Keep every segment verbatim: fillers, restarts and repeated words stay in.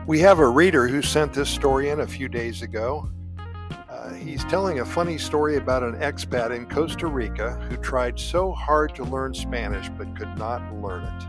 We have a reader who sent this story in a few days ago. Uh, he's telling a funny story about an expat in Costa Rica who tried so hard to learn Spanish but could not learn it.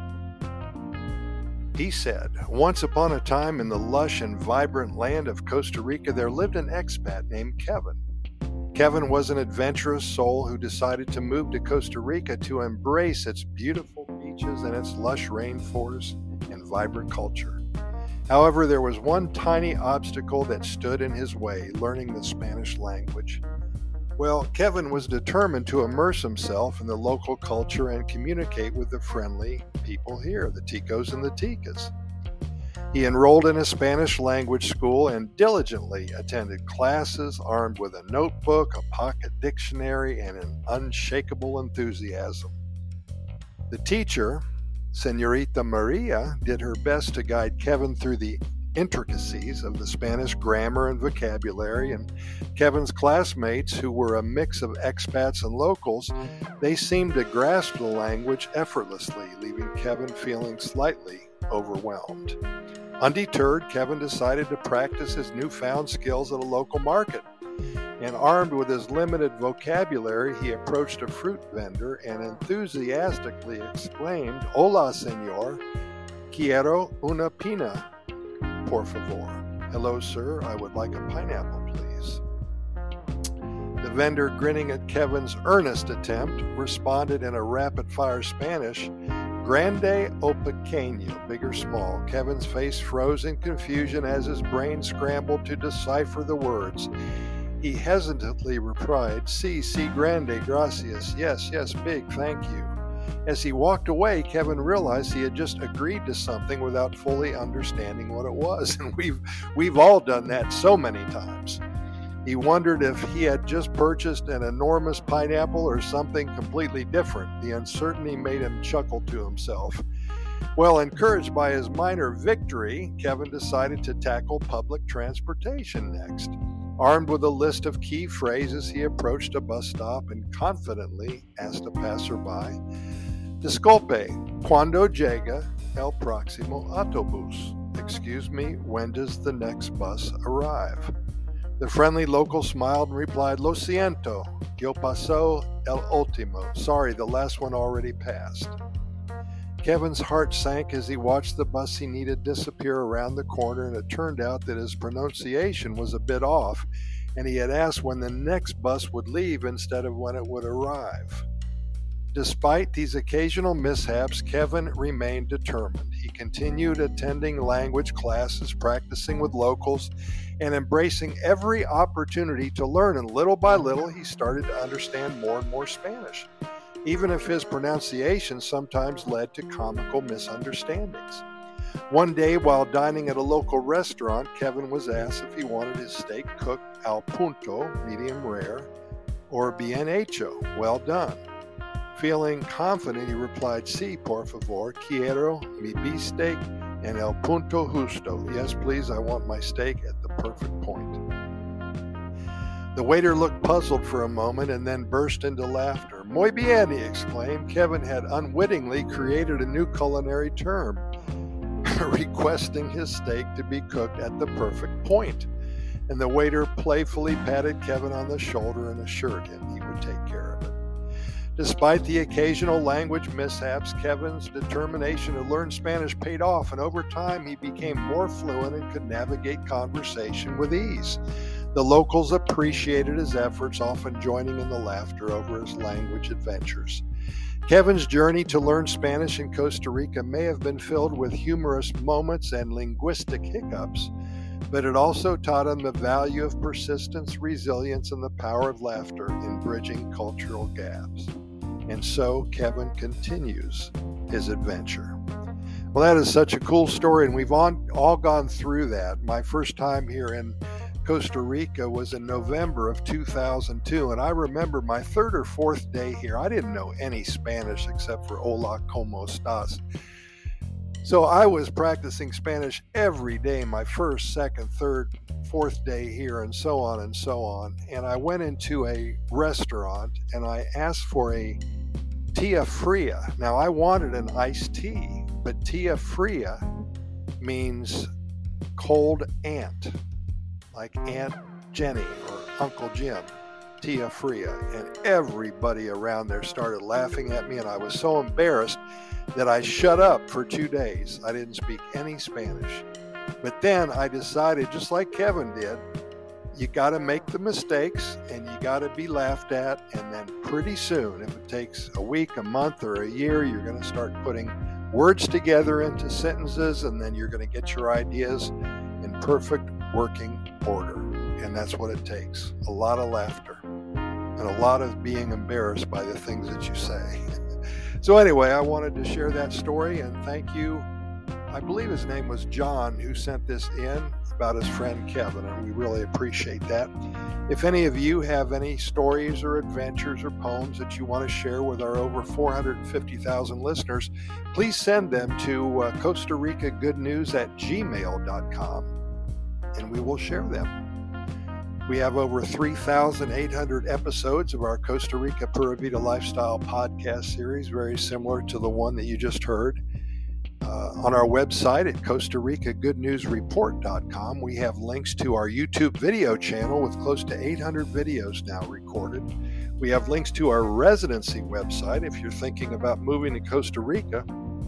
He said, "Once upon a time in the lush and vibrant land of Costa Rica, there lived an expat named Kevin. Kevin was an adventurous soul who decided to move to Costa Rica to embrace its beautiful beaches and its lush rainforests and vibrant culture. However, there was one tiny obstacle that stood in his way, learning the Spanish language. Well, Kevin was determined to immerse himself in the local culture and communicate with the friendly people here, the Ticos and the Ticas. He enrolled in a Spanish language school and diligently attended classes armed with a notebook, a pocket dictionary, and an unshakable enthusiasm. The teacher, Señorita Maria, did her best to guide Kevin through the intricacies of the Spanish grammar and vocabulary, and Kevin's classmates, who were a mix of expats and locals, they seemed to grasp the language effortlessly, leaving Kevin feeling slightly overwhelmed. Undeterred, Kevin decided to practice his newfound skills at a local market. And armed with his limited vocabulary, he approached a fruit vendor and enthusiastically exclaimed, "Hola, señor. Quiero una pina, por favor." "Hello, sir. I would like a pineapple, please." The vendor, grinning at Kevin's earnest attempt, responded in a rapid-fire Spanish, "Grande o pequeño," big or small. Kevin's face froze in confusion as his brain scrambled to decipher the words. He hesitantly replied, "Si, si, grande, gracias. Yes, yes, big, thank you." As he walked away, Kevin realized he had just agreed to something without fully understanding what it was, and we've we've all done that so many times. He wondered if he had just purchased an enormous pineapple or something completely different. The uncertainty made him chuckle to himself. Well, encouraged by his minor victory, Kevin decided to tackle public transportation next. Armed with a list of key phrases, he approached a bus stop and confidently asked a passerby, "Disculpe, ¿cuándo llega el próximo autobús?" "Excuse me, when does the next bus arrive?" The friendly local smiled and replied, "Lo siento, yo paso el último." "Sorry, the last one already passed." Kevin's heart sank as he watched the bus he needed disappear around the corner, and it turned out that his pronunciation was a bit off, and he had asked when the next bus would leave instead of when it would arrive. Despite these occasional mishaps, Kevin remained determined. He continued attending language classes, practicing with locals, and embracing every opportunity to learn, and little by little he started to understand more and more Spanish, even if his pronunciation sometimes led to comical misunderstandings. One day, while dining at a local restaurant, Kevin was asked if he wanted his steak cooked al punto, medium rare, or bien hecho, well done. Feeling confident, he replied, "Si, por favor, quiero mi beefsteak en el punto justo." "Yes, please, I want my steak at the perfect point." The waiter looked puzzled for a moment and then burst into laughter. "Muy bien," he exclaimed. Kevin had unwittingly created a new culinary term, requesting his steak to be cooked at the perfect point. And the waiter playfully patted Kevin on the shoulder and assured him he would take care of it. Despite the occasional language mishaps, Kevin's determination to learn Spanish paid off, and over time he became more fluent and could navigate conversation with ease. The locals appreciated his efforts, often joining in the laughter over his language adventures. Kevin's journey to learn Spanish in Costa Rica may have been filled with humorous moments and linguistic hiccups, but it also taught him the value of persistence, resilience, and the power of laughter in bridging cultural gaps. And so Kevin continues his adventure. Well, that is such a cool story, and we've all, all gone through that. My first time here in Costa Rica was in November of two thousand two, and I remember my third or fourth day here. I didn't know any Spanish except for "Hola, ¿cómo estás?" So I was practicing Spanish every day, my first, second, third, fourth day here, and so on and so on. And I went into a restaurant and I asked for a Tia Fria. Now, I wanted an iced tea, but Tia Fria means cold aunt, like Aunt Jenny or Uncle Jim, Tia Fria, and everybody around there started laughing at me, and I was so embarrassed that I shut up for two days. I didn't speak any Spanish. But then I decided, just like Kevin did, you got to make the mistakes and you got to be laughed at, and then pretty soon, if it takes a week, a month, or a year, you're going to start putting words together into sentences, and then you're going to get your ideas in perfect working order. And that's what it takes. A lot of laughter and a lot of being embarrassed by the things that you say. So anyway, I wanted to share that story, and thank you. I believe his name was John who sent this in about his friend Kevin, and we really appreciate that. If any of you have any stories or adventures or poems that you want to share with our over four hundred fifty thousand listeners, please send them to uh, Costa Rica Good News at gmail dot com, and we will share them. We have over three thousand eight hundred episodes of our Costa Rica Pura Vida Lifestyle podcast series, very similar to the one that you just heard. Uh, on our website at Costa Rica Good News Report dot com, we have links to our YouTube video channel with close to eight hundred videos now recorded. We have links to our residency website. If you're thinking about moving to Costa Rica,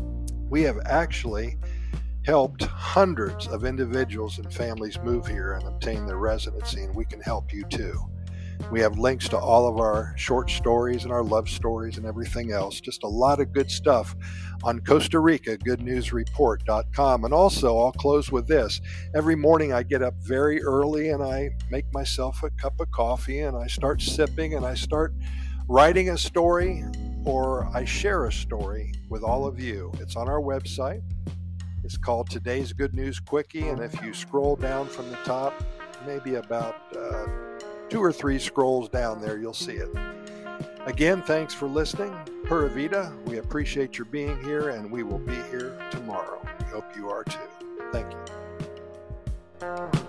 we have actually helped hundreds of individuals and families move here and obtain their residency, and we can help you too. We have links to all of our short stories and our love stories and everything else. Just a lot of good stuff on Costa Rica Good News Report dot com. And also, I'll close with this. Every morning I get up very early and I make myself a cup of coffee and I start sipping and I start writing a story, or I share a story with all of you. It's on our website. It's called Today's Good News Quickie, and if you scroll down from the top, maybe about uh, two or three scrolls down there, you'll see it. Again, thanks for listening. Pura Vida, we appreciate your being here, and we will be here tomorrow. We hope you are too. Thank you.